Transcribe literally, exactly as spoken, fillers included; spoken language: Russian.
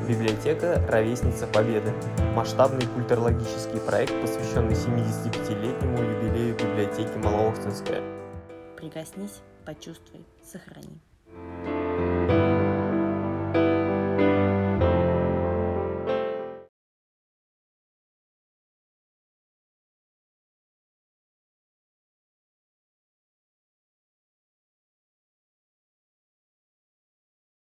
Библиотека «Ровесница Победы» – масштабный культурологический проект, посвященный семидесятипятилетнему юбилею библиотеки Малоохтинская. Прикоснись, почувствуй, сохрани.